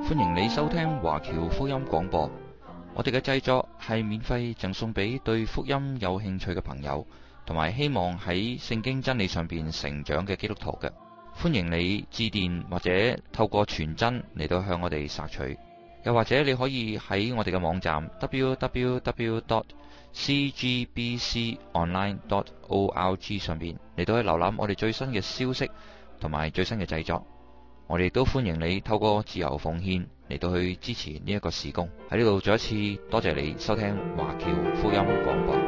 歡迎你收聽華僑福音廣播。我哋嘅製作係免費贈送俾對福音有興趣嘅朋友，同埋希望喺聖經真理上邊成長嘅基督徒嘅。歡迎你致電或者透過傳真嚟到向我哋索取，又或者你可以喺我哋嘅網站 www.cgbconline.org 上邊嚟到去瀏覽我哋最新嘅消息同埋最新嘅製作。我哋都歡迎你透過自由奉獻嚟到去支持呢一個事工。喺呢度再一次多謝你收聽華僑福音廣播。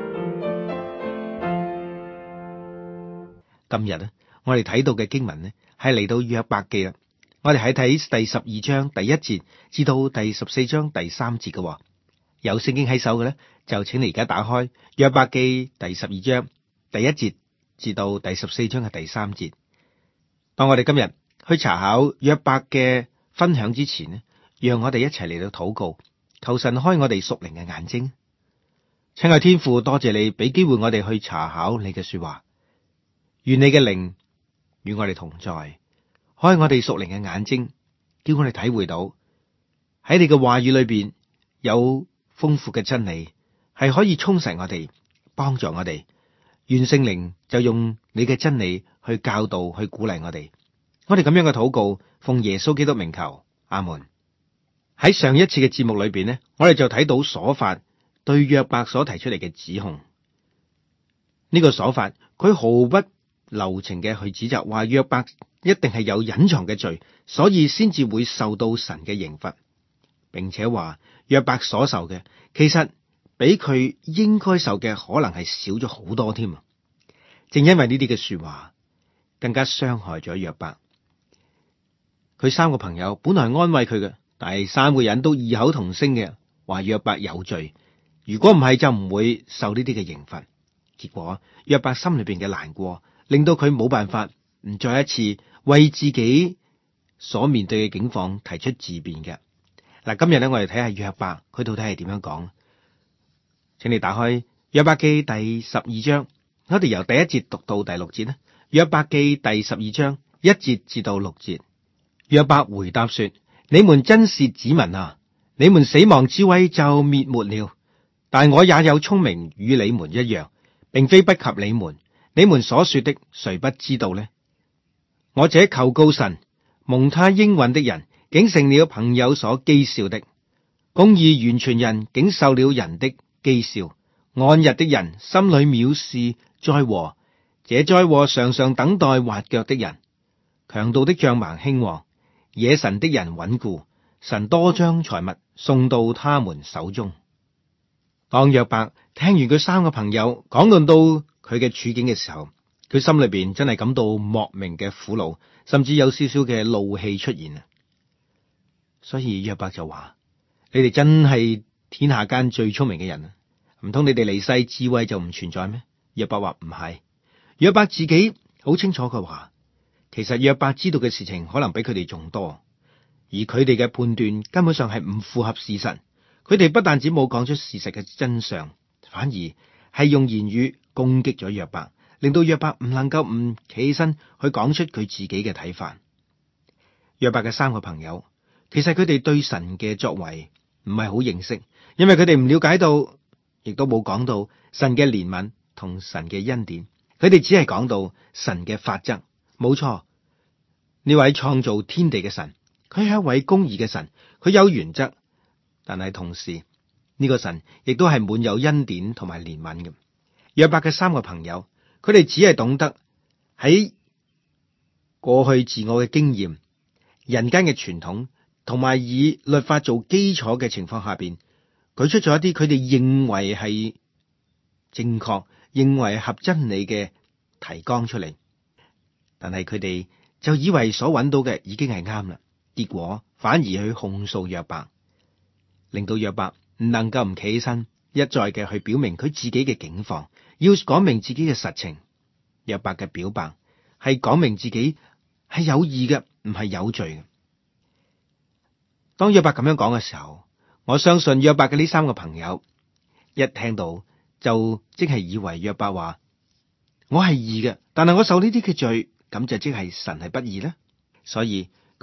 今日我哋睇到嘅經文呢，係嚟到約伯記啦。我哋喺睇第12章第1節至到第14章第3節嘅。有聖經喺手嘅呢，就請你而家打開約伯記第12章第1節至到第14章嘅第3節。當我哋今日去查考約伯嘅分享之前呢，讓我哋一齊嚟到禱告，求神開我哋屬靈嘅眼睛。親愛天父，多謝你俾機會我哋去查考你嘅說話，願你嘅靈與我哋同在，開我哋屬靈嘅眼睛，叫我哋體會到喺你嘅話語裏邊有豐富嘅真理，係可以充實我哋，幫助我哋。願聖靈就用你嘅真理去教導，去鼓勵我哋。我哋咁樣嘅禱告，奉耶穌基督名求，阿門。喺上一次嘅節目裏邊呢，我哋就睇到瑣法對約伯所提出嚟嘅指控。呢個瑣法佢毫不留情嘅去指責，話約伯一定係有隱藏嘅罪，所以先至會受到神嘅刑罰，並且話約伯所受嘅其實比佢應該受嘅可能係少咗好多添。正因為呢啲嘅說話，更加傷害咗約伯。佢三個朋友本來係安慰佢嘅，但係三個人都異口同聲嘅話約伯有罪，如果唔係就唔會受呢啲嘅刑罰。結果約伯心裏邊嘅難過，令到佢冇辦法唔再一次為自己所面對嘅境況提出自辯嘅。嗱，今日咧我哋睇下約伯佢到底係點樣講。請你打開約伯記第12章，我哋由第1節讀到第6節啦。約伯記第12章1節至到6節。約伯回答說：你們真是子民啊！你們死亡之威就滅沒了，但我也有聰明與你們一樣，並非不及你們。你們所說的誰不知道呢？我這求告神蒙他應允的人，竟成了朋友所譏笑的；公義完全人竟受了人的譏笑。安逸的人心裏藐視災禍，這災禍常常等待滑腳的人。強盜的帳棚興旺，惹神的人穩固，神多將財物送到他們手中。當約伯聽完佢三個朋友講論到佢嘅處境嘅時候，佢心裏邊真係感到莫名嘅苦惱，甚至有少少嘅怒氣出現啊！所以約伯就話：你哋真係天下間最聰明嘅人啊！唔通你哋離世智慧就唔存在咩？約伯話唔係，約伯自己好清楚佢話。其實約伯知道嘅事情可能比佢哋仲多，而佢哋嘅判斷根本上係唔符合事實。佢哋不但止冇講出事實嘅真相，反而係用言語攻擊咗約伯，令到約伯唔能夠唔企起身去講出佢自己嘅睇法。約伯嘅三個朋友，其實佢哋對神嘅作為唔係好認識，因為佢哋唔了解到，亦都冇講到神嘅憐憫同神嘅恩典。佢哋只係講到神嘅法則。冇錯，呢位創造天地嘅神，佢係一位公義嘅神，佢有原則，但係同時呢個神亦都係滿有恩典同埋憐憫嘅。約伯嘅三個朋友，佢哋只係懂得喺過去自我嘅經驗、人間嘅傳統同埋以律法做基礎嘅情況下邊，舉出咗一啲佢哋認為係正確、認為合真理嘅提綱出嚟。但係佢哋就以為所揾到嘅已經係啱啦，結果反而去控訴約伯，令到約伯唔能夠唔企起身，一再嘅去表明佢自己嘅境況，要講明自己嘅實情。約伯嘅表白係講明自己係有義嘅，唔係有罪嘅。當約伯咁樣講嘅時候，我相信約伯嘅呢三個朋友一聽到就即係以為約伯話我係義嘅，但係我受呢啲嘅罪。咁就即係神係不義呢？所以佢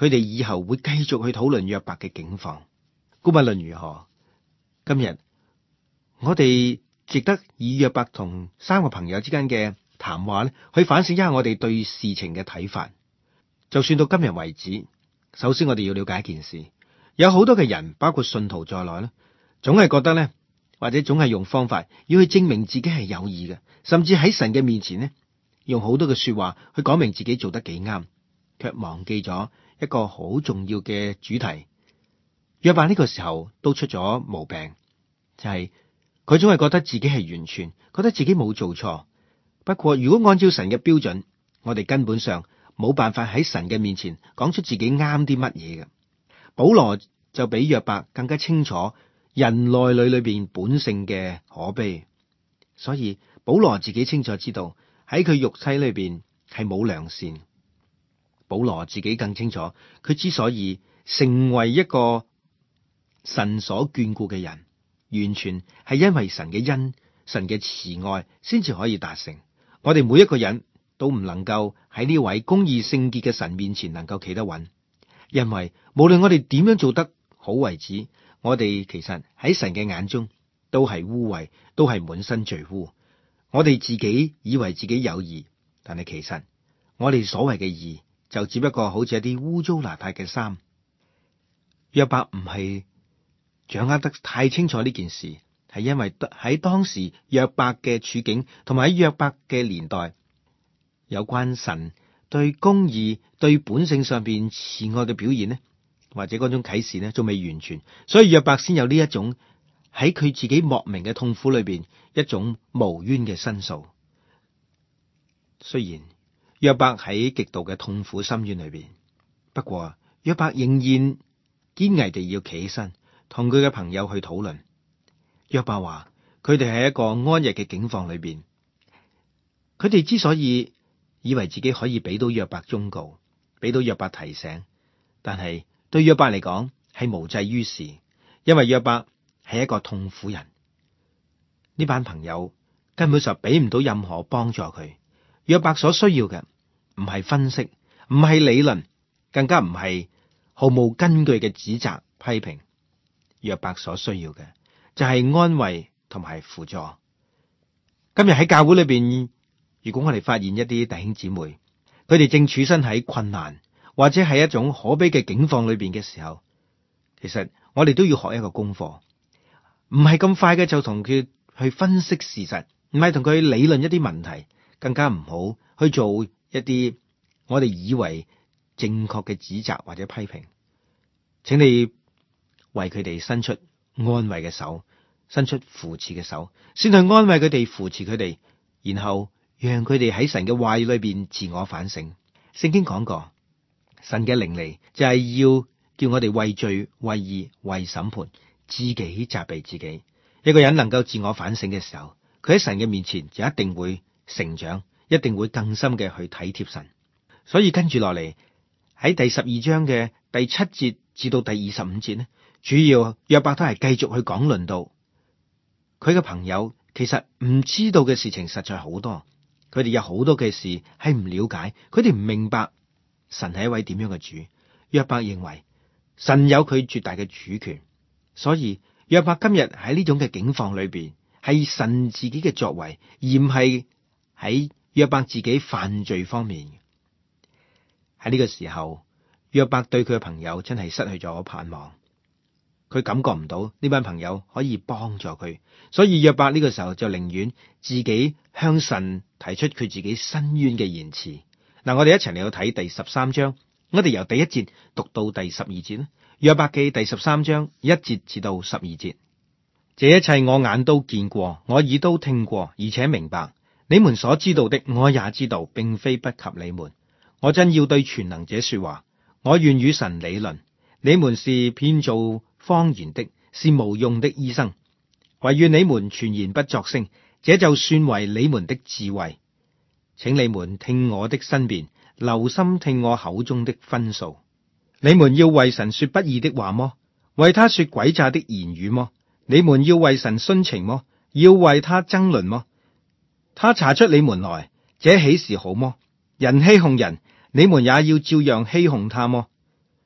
佢哋以後會繼續去討論約伯嘅境況。無論如何，今日我哋值得以約伯同三個朋友之間嘅談話咧，去反省一下我哋對事情嘅睇法。就算到今日為止，首先我哋要了解一件事，有好多嘅人，包括信徒在內咧，總係覺得咧，或者總係用方法要去證明自己係有義嘅，甚至喺神嘅面前咧，用好多嘅說話去講明自己做得幾啱，卻忘記咗一個好重要嘅主題。約伯呢個時候都出咗毛病，就係佢總係覺得自己係完全，覺得自己冇做錯。不過如果按照神嘅標準，我哋根本上冇辦法喺神嘅面前講出自己啱啲乜嘢嘅。保羅就比約伯更加清楚人內裏邊本性嘅可悲，所以保羅自己清楚知道喺佢肉體裏邊係冇良善。保羅自己更清楚，佢之所以成為一個神所眷顧嘅人，完全係因為神嘅恩、神嘅慈愛先至可以達成。我哋每一個人都唔能夠喺呢位公義聖潔嘅神面前能夠企得穩，因為無論我哋點樣做得好為止，我哋其實喺神嘅眼中都係污穢，都係滿身罪污。我哋自己以為自己有義，但係其實我哋所謂嘅義就只不過好似一啲污糟邋遢嘅衫。約伯唔係掌握得太清楚呢件事，係因為喺當時約伯嘅處境同埋喺約伯嘅年代，有關神對公義、對本性上邊慈愛嘅表現呢，或者嗰種啟示呢，仲未完全，所以約伯先有呢一種喺佢自己莫名嘅痛苦裏邊一種無冤嘅申訴。雖然約伯喺極度嘅痛苦深淵裏邊，不過約伯仍然堅毅地要企起身，同佢嘅朋友去討論。約伯話佢哋喺一個安逸嘅境況裏邊，佢哋之所以以為自己可以俾到約伯忠告，俾到約伯提醒，但係對約伯嚟講係無濟於事，因為約伯係一個痛苦人。呢班朋友根本就俾唔到任何幫助佢。約伯所需要嘅唔係分析，唔係理論，更加唔係毫無根據嘅指責批評。約伯所需要嘅就係安慰同埋輔助。今日喺教會裏邊，如果我哋發現一啲弟兄姊妹，佢哋正處身喺困難或者係一種可悲嘅境況裏邊嘅時候，其實我哋都要學一個功課，唔係咁快嘅就同佢去分析事實，唔係同佢理論一啲問題，更加唔好去做一啲我哋以為正確嘅指責或者批評。請你為佢哋伸出安慰嘅手，伸出扶持嘅手，先去安慰佢哋，扶持佢哋，然後讓佢哋喺神嘅話語裏邊自我反省。聖經講過，神嘅靈嚟就係要叫我哋為罪、為義、為審判，自己責備自己。一個人能夠自我反省嘅時候，佢喺神嘅面前就一定會成長，一定會更深嘅去體貼神。所以跟住落嚟喺第12章嘅第7節至到第25節呢，主要約伯都係繼續去講論到佢嘅朋友其實唔知道嘅事情實在好多，佢哋有好多嘅事係唔了解，佢哋唔明白神係一位點樣嘅主。約伯認為神有佢絕大嘅主權，所以約伯今日喺呢種嘅境況裏邊，係神自己嘅作為，而唔係喺約伯自己犯罪方面。喺呢個時候，約伯對佢嘅朋友真係失去咗盼望，佢感覺唔到呢班朋友可以幫助佢，所以約伯呢個時候就寧願自己向神提出佢自己申冤嘅言辭。嗱，我哋一齊嚟到睇第13章，我哋由第1節讀到第12節啦。約伯記第13章1節至到12節，這一切我眼都見過，我耳都聽過，而且明白。你們所知道的，我也知道，並非不及你們。我真要對全能者說話，我願與神理論。你們是編造謊言的，是無用的醫生。惟願你們全然不作聲，這就算為你們的智慧。請你們聽我的申辯，留心聽我口中的分數。你們要為神說不義的話麼？為他說詭詐的言語麼？你們要為神徇情麼？要為他爭論麼？他查出你們來，這豈是好麼？人欺哄人，你們也要照樣欺哄他麼？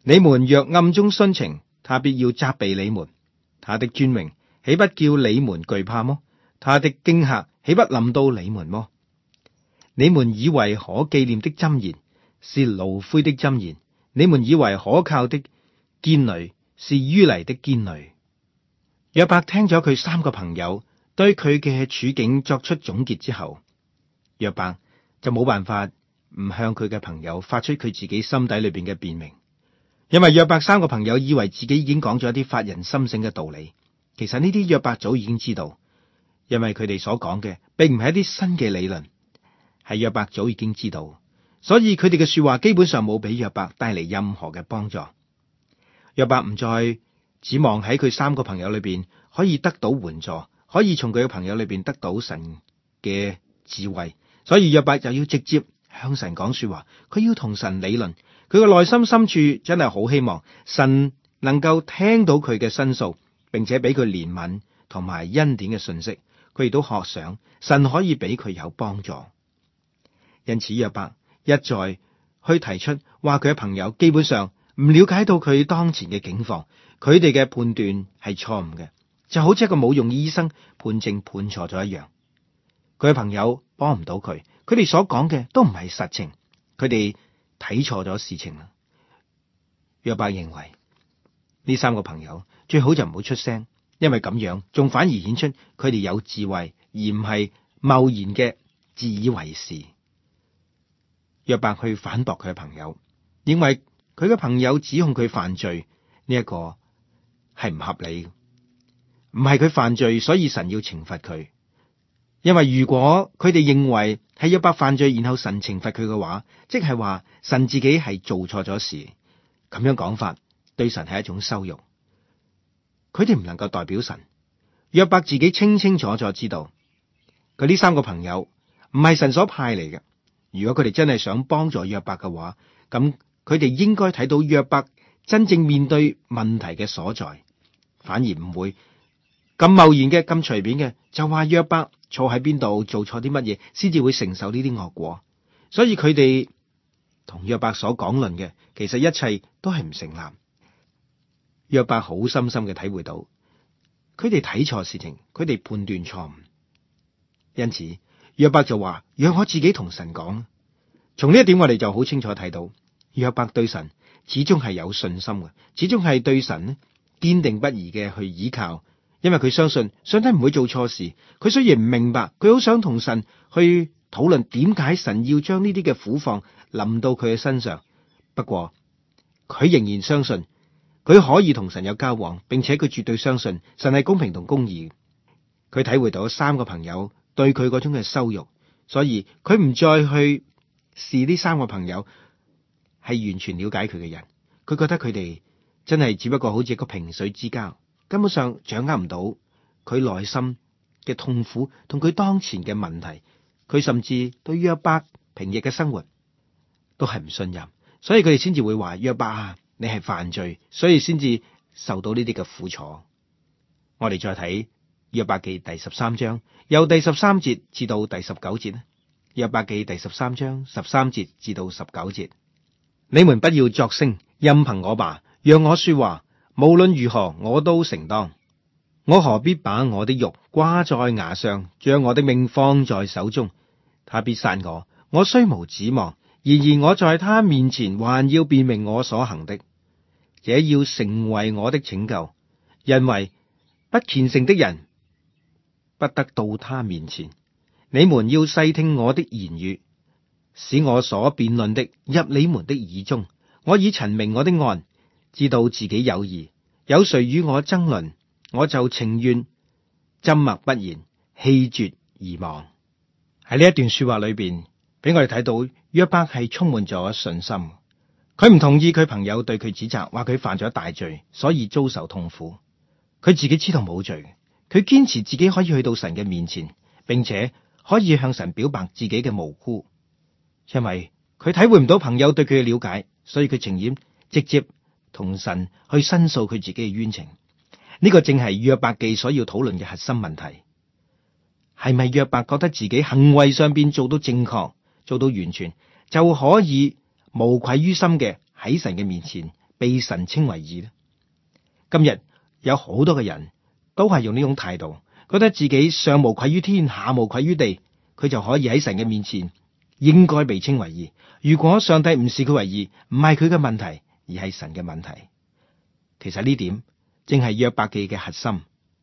你們若暗中徇情，他必要責備你們。他的尊榮豈不叫你們懼怕麼？他的驚嚇豈不臨到你們麼？你們以為可紀念的箴言是爐灰的箴言，你們以為可靠的堅壘是淤泥的堅壘。約伯聽咗佢三個朋友對佢嘅處境作出總結之後，約伯就冇辦法唔向佢嘅朋友發出佢自己心底裏邊嘅辯明，因為約伯三個朋友以為自己已經講咗一啲發人深省嘅道理，其實呢啲約伯早已經知道，因為佢哋所講嘅並唔係一啲新嘅理論，係約伯早已經知道，所以佢哋嘅說話基本上冇俾約伯帶嚟任何嘅幫助。約伯唔再指望喺佢三個朋友裏邊可以得到援助，可以從佢嘅朋友裏邊得到神嘅智慧，所以約伯就要直接向神講說話，佢要同神理論。佢嘅內心深處真係好希望神能夠聽到佢嘅申訴，並且俾佢憐憫同埋恩典嘅信息。佢亦都渴想神可以俾佢有幫助。因此約伯一再去提出話佢嘅朋友基本上唔了解到佢當前嘅境況，佢哋嘅判斷係錯誤嘅，就好似一個冇用醫生判證判錯咗一樣。佢嘅朋友幫唔到佢，佢哋所講嘅都唔係實情，佢哋睇錯咗事情啦。約伯認為呢三個朋友最好就唔好出聲，因為咁樣仲反而顯出佢哋有智慧，而唔係貿然嘅自以為是。約伯去反駁佢嘅朋友，認為佢嘅朋友指控佢犯罪呢一個係唔合理，唔係佢犯罪，所以神要懲罰佢。因為如果佢哋認為係約伯犯罪，然後神懲罰佢嘅話，即係話神自己係做錯咗事，咁樣講法對神係一種羞辱。佢哋唔能夠代表神。約伯自己清清楚楚知道，佢呢三個朋友唔係神所派嚟嘅。如果佢哋真係想幫助約伯嘅話，咁佢哋應該睇到約伯真正面對問題嘅所在，反而唔會咁貿然嘅、咁隨便嘅就話約伯錯喺邊度，做錯啲乜嘢，先至會承受呢啲惡果。所以佢哋同約伯所講論嘅，其實一切都係唔成立。約伯好深深嘅體會到，佢哋睇錯事情，佢哋判斷錯誤。因此約伯就話：讓我自己同神講。從呢一點我哋就好清楚睇到，約伯對神始終係有信心嘅，始終係對神呢堅定不移嘅去依靠。因為佢相信上帝唔會做錯事，佢雖然唔明白，佢好想同神去討論點解神要將呢啲嘅苦況臨到佢嘅身上。不過佢仍然相信佢可以同神有交往，並且佢絕對相信神係公平同公義。佢體會到三個朋友對佢嗰種嘅羞辱，所以佢唔再去視呢三個朋友係完全了解佢嘅人。佢覺得佢哋真係只不過好似一個萍水之交，根本上掌握唔到佢內心嘅痛苦同佢當前嘅問題。佢甚至對約伯平日嘅生活都係唔信任，所以佢哋先至會話：約伯啊，你係犯罪，所以先至受到呢啲嘅苦楚。我哋再睇約伯記第13章，由第13節至到第19節咧。約伯記第13章13節至到19節，你們不要作聲，任憑我吧，讓我說話，無論如何我都承當。我何必把我的肉掛在牙上，將我的命放在手中？他必殺我，我雖無指望，然而我在他面前還要辨明我所行的，這要成為我的拯救，因為不虔誠的人不得到他面前。你們要細聽我的言語，使我所辯論的入你們的耳中。我已陳明我的案，知道自己有義。有誰與我爭論，我就情願緘默不言，氣絕而亡。喺呢一段說話裏邊，俾我哋睇到約伯係充滿咗信心。佢唔同意佢朋友對佢指責，話佢犯咗大罪，所以遭受痛苦。佢自己知道冇罪，佢堅持自己可以去到神嘅面前，並且可以向神表白自己嘅無辜。因為佢體會唔到朋友對佢嘅了解，所以佢情願直接同神去申訴佢自己嘅冤情。呢個正係約伯記所要討論嘅核心問題。係咪約伯覺得自己行為上邊做到正確，做到完全，就可以無愧於心嘅喺神嘅面前被神稱為義呢？今日有好多嘅人都係用呢種態度，覺得自己上無愧於天，下無愧於地，佢就可以喺神嘅面前應該被稱為義。如果上帝唔視佢為義，唔係佢嘅問題，而係神嘅問題。其實呢點正係約伯記嘅核心。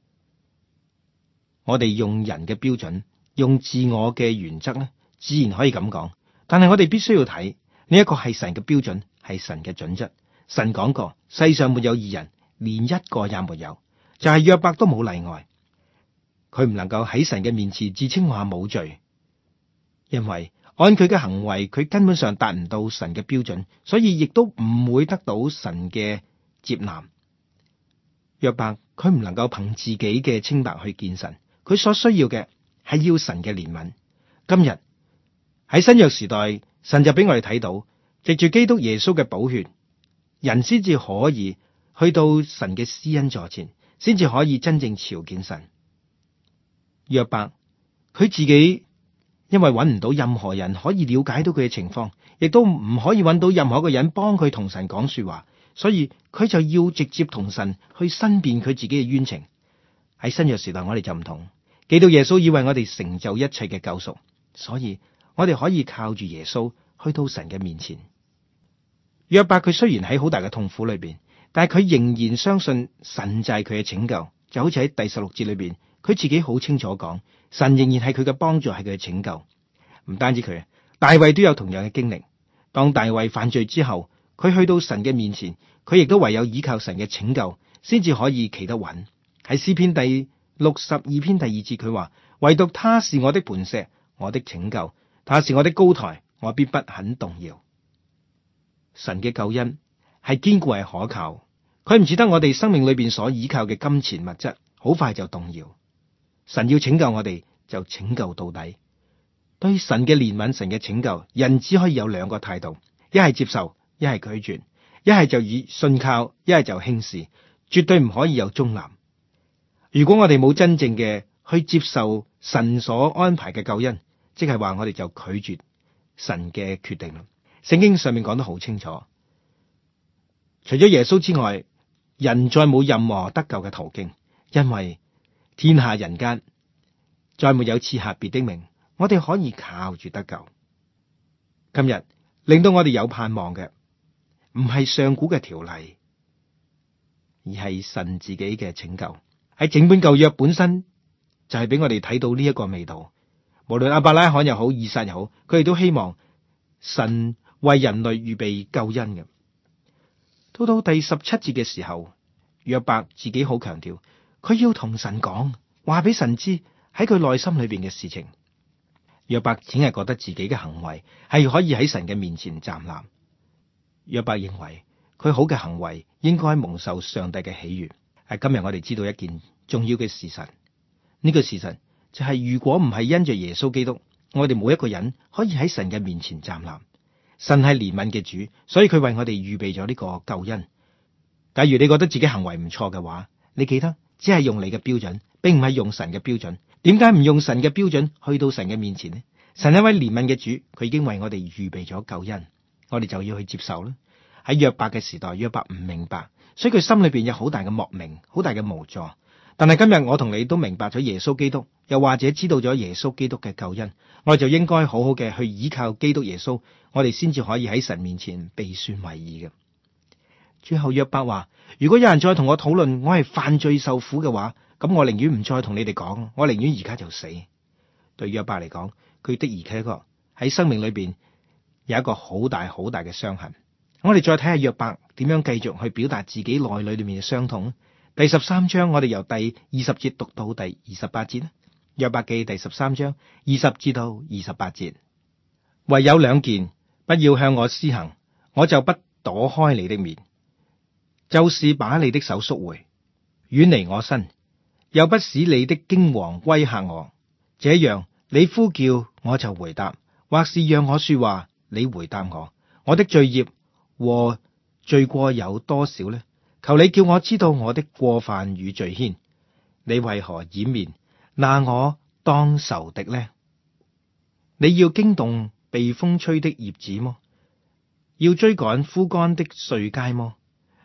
我哋用人嘅標準，用自我嘅原則呢，自然可以咁講。但係我哋必須要睇呢一個係神嘅標準，係神嘅準則。神講過，世上沒有義人，連一個也沒有，就係約伯都冇例外。佢唔能夠喺神嘅面前自稱話冇罪，因為按佢嘅行為，佢根本上達唔到神嘅標準，所以亦都唔會得到神嘅接納。約伯佢唔能夠憑自己嘅清白去見神，佢所需要嘅係要神嘅憐憫。今日喺新約時代，神就俾我哋睇到，藉住基督耶穌嘅寶血，人先至可以去到神嘅施恩座前，先至可以真正朝見神。約伯佢自己因為揾唔到任何人可以了解到佢嘅情況，亦都唔可以揾到任何一個人幫佢同神講說話，所以佢就要直接同神去申辯佢自己嘅冤情。喺新約時代，我哋就唔同，基督耶穌已為我哋成就一切嘅救贖，所以我哋可以靠住耶穌去到神嘅面前。約伯佢雖然喺好大嘅痛苦裏邊，但係佢仍然相信神就係佢嘅拯救，就好似喺第16節裏邊，佢自己好清楚講，神仍然係佢嘅幫助，係佢嘅拯救。唔單止佢，大衛都有同樣嘅經歷。當大衛犯罪之後，佢去到神嘅面前，佢亦都唯有依靠神嘅拯救，先至可以企得穩。喺詩篇第62篇第2節，佢話：唯獨他是我的磐石，我的拯救，他是我的高台，我必不肯動搖。神嘅救恩係堅固係可靠，佢唔似得我哋生命裏邊所依靠嘅金錢物質，好快就動搖。神要拯救我哋，就拯救到底。對神嘅憐憫、神嘅拯救，人只可以有兩個態度：一係接受，一係拒絕；一係就以信靠，一係就輕視，絕對唔可以有中立。如果我哋冇真正嘅去接受神所安排嘅救恩，即係話我哋就拒絕神嘅決定。聖經上面講得好清楚，除咗耶穌之外，人再冇任何得救嘅途徑，因為天下人間再沒有賜下別的名，我哋可以靠住得救。今日令到我哋有盼望嘅，唔係上古嘅條例，而係神自己嘅拯救。喺整本舊約本身就係俾我哋睇到呢一個味道。無論亞伯拉罕又好，以撒又好，佢哋都希望神為人類預備救恩嘅。到第17節嘅時候，約伯自己好強調，佢要同神講，話俾神知喺佢內心裏邊嘅事情。約伯只係覺得自己嘅行為係可以喺神嘅面前站立。約伯認為佢好嘅行為應該蒙受上帝嘅喜悅。今日我哋知道一件重要嘅事實，呢個事實就係如果唔係因着耶穌基督，我哋冇一個人可以喺神嘅面前站立。神係憐憫嘅主，所以佢為我哋預備咗呢個救恩。假如你覺得自己行為唔錯嘅話，你記得只係用你嘅標準，並唔係用神嘅標準。點解唔用神嘅標準去到神嘅面前呢？神係一位憐憫嘅主，佢已經為我哋預備咗救恩，我哋就要去接受啦。喺約伯嘅時代，約伯唔明白，所以佢心裏邊有好大嘅莫名，好大嘅無助。但係今日我同你都明白咗耶穌基督，又或者知道咗耶穌基督嘅救恩，我哋就應該好好嘅去依靠基督耶穌，我哋先至可以喺神面前被算為義嘅。最後約伯話：如果有人再同我討論我係犯罪受苦嘅話，咁我寧願唔再同你哋講，我寧願而家就死。對約伯嚟講，佢的而且確喺生命裏邊有一個好大好大嘅傷痕。我哋再睇下約伯點樣繼續去表達自己內裏面嘅傷痛。第13章，我哋由第20節讀到第28節。約伯記第13章20至到28節，唯有兩件，不要向我施行，我就不躲開你的面，就是把你的手縮回，遠離我身，又不使你的驚惶威嚇我。這樣你呼叫我就回答，或是讓我說話，你回答我。我的罪孽和罪過有多少呢？求你叫我知道我的過犯與罪愆。你為何掩面，拿我當仇敵呢？你要驚動被風吹的葉子麼？要追趕枯乾的碎秸麼？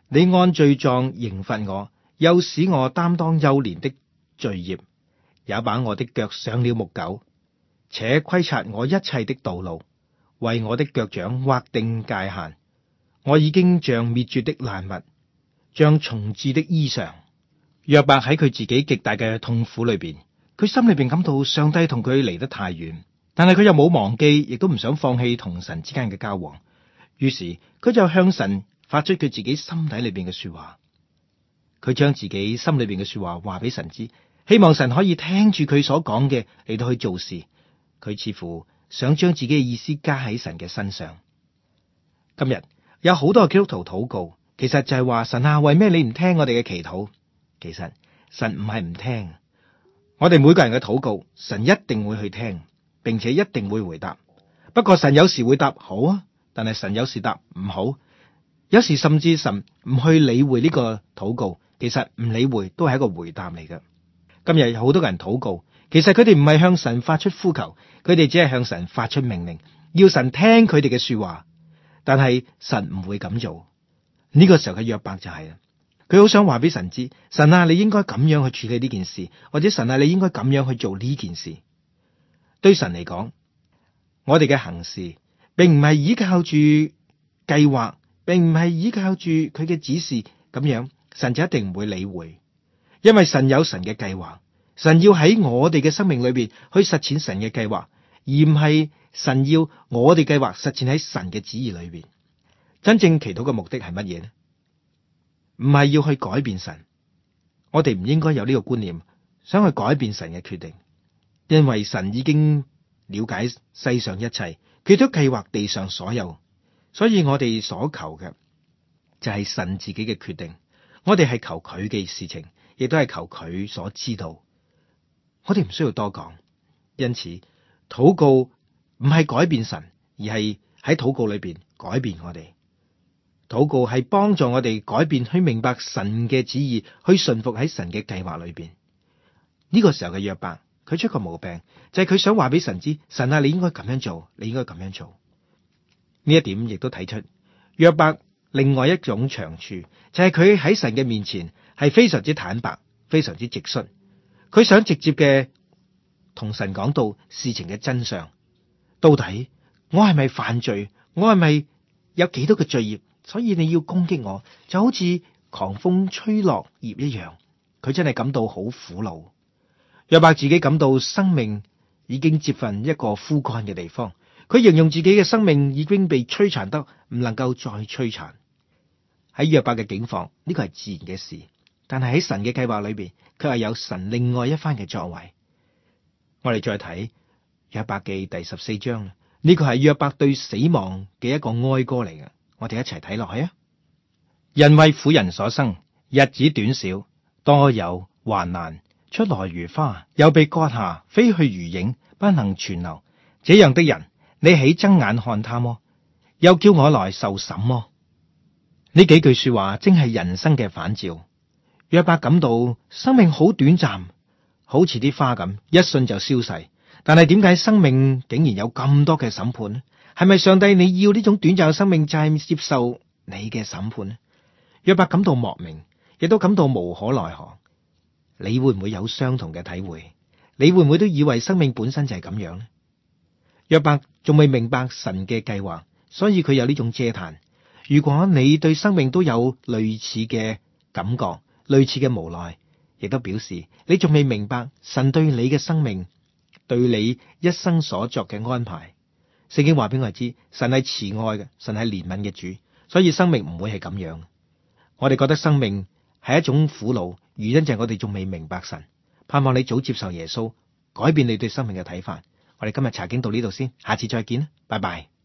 你按罪狀刑罰我，又使我擔當幼年的罪孽，也把我的腳上了木狗，且窺察我一切的道路，為我的腳掌劃定界限。我已經像滅絕的爛物，像蟲豸的衣裳。約伯喺佢自己極大嘅痛苦裏邊，佢心裏邊感到上帝同佢離得太遠，但係佢又冇忘記，亦都唔想放棄同神之間嘅交往。於是佢就向神發出佢自己心底裏邊嘅說話。佢將自己心裏邊嘅說話話俾神知，希望神可以聽住佢所講嘅嚟到去做事。佢似乎想將自己嘅意思加喺神嘅身上。今日有好多基督徒禱告，其實就係話，神啊，為咩你唔聽我哋嘅祈禱？其實神唔係唔聽，我哋每個人嘅禱告，神一定會去聽，並且一定會回答。不過神有時會答好啊，但係神有時答唔好，有時甚至神唔去理會呢個禱告。其實唔理會都係一個回答嚟嘅。今日有好多人禱告，其實佢哋唔係向神發出呼求，佢哋只係向神發出命令，要神聽佢哋嘅說話。但係神唔會咁做。呢個時候嘅約伯就係啦，佢好想話俾神知，神啊，你應該咁樣去處理呢件事，或者神啊，你應該咁樣去做呢件事。對神嚟講，我哋嘅行事並唔係依靠住計劃，並唔係依靠住佢嘅指示，咁樣神就一定唔會理會，因為神有神嘅計劃，神要喺我哋嘅生命裏邊去實踐神嘅計劃，而唔係神要我哋計劃實踐喺神嘅旨意裏邊。真正祈禱嘅目的係乜嘢呢？唔係要去改變神，我哋唔應該有呢個觀念，想去改變神嘅決定，因為神已經了解世上一切，佢都計劃地上所有，所以我哋所求嘅就係神自己嘅決定。我哋係求佢嘅事情，亦都係求佢所知道。我哋唔需要多講，因此禱告唔係改變神，而係喺禱告裏邊改變我哋。禱告係幫助我哋改變，去明白神嘅旨意，去順服喺神嘅計劃裏邊。呢個時候嘅約伯，佢出個毛病，就係佢想話俾神知，神啊，你應該咁樣做，你應該咁樣做。呢一點亦都睇出約伯另外一種長處，就係佢喺神嘅面前係非常之坦白，非常之直率。佢想直接嘅同神講到事情嘅真相，到底我係咪犯罪，我係咪有幾多嘅罪孽，所以你要攻擊我，就好似狂風吹落葉一樣。佢真係感到好苦惱。約伯自己感到生命已經接近一個枯乾嘅地方，佢形容自己嘅生命已經被摧殘得唔能夠再摧殘。喺約伯嘅境況，呢個係自然嘅事，但係喺神嘅計劃裏邊，佢係有神另外一番嘅作為。我哋再睇約伯記第14章，呢個係約伯對死亡嘅一個哀歌嚟嘅。我哋一齊睇落去啊！人為婦人所生，日子短少，多有患難，出來如花，又被割下，飛去如影，不能存留。這樣的人，你豈睜眼看他麼？又叫我來受審麼？呢幾句說話正係人生嘅反照。約伯感到生命好短暫，好似啲花咁，一瞬就消逝。但係點解生命竟然有咁多嘅審判呢？係咪上帝你要呢種短暫嘅生命就係接受你嘅審判呢？約伯感到莫名，亦都感到無可奈何。你會唔會有相同嘅體會？你會唔會都以為生命本身就係咁樣呢？約伯仲未明白神嘅計劃，所以佢有呢種嗟嘆。如果你對生命都有類似嘅感覺，類似嘅無奈，亦都表示你仲未明白神對你嘅生命，對你一生所作嘅安排。聖經話俾我哋知，神係慈愛嘅，神係憐憫嘅主，所以生命唔會係咁樣。我哋覺得生命係一種苦惱，原因就係我哋仲未明白神。盼望你早接受耶穌，改變你對生命嘅睇法。我哋今日查經到呢度先，下次再見啦，拜拜。